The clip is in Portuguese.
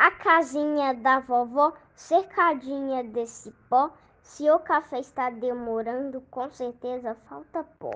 A casinha da vovó, cercadinha de cipó. Se o café está demorando, com certeza falta pó.